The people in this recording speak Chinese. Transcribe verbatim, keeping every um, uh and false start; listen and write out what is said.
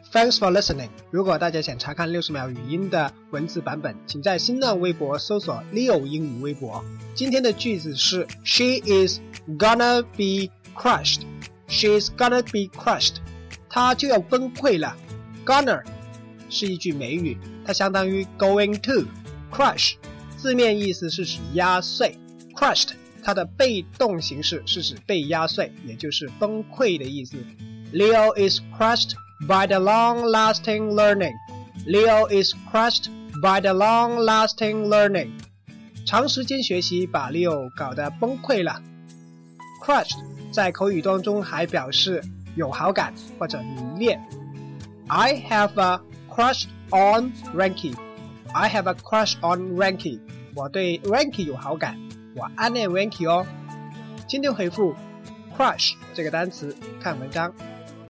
Thanks for listening. 如果大家想查看六十秒语音的文字版本，请在新浪微博搜索 Leo 英语微博。今天的句子是 She is gonna be crushed. She is gonna be crushed. 她就要崩溃了。Gonna 是一句美语，它相当于 going to. Crush 字面意思是指压碎。Crushed 它的被动形式是指被压碎，也就是崩溃的意思。Leo is crushed by the long-lasting learning. Leo is crushed by the long-lasting learning. 长时间学习把 Leo 搞得崩溃了。Crushed 在口语当中还表示有好感或者迷恋。I have a crush on Ranky. I have a crush on Ranky. 我对 Ranky 有好感，我暗恋 Ranky 哦。今天回复 crush 这个单词，看文章。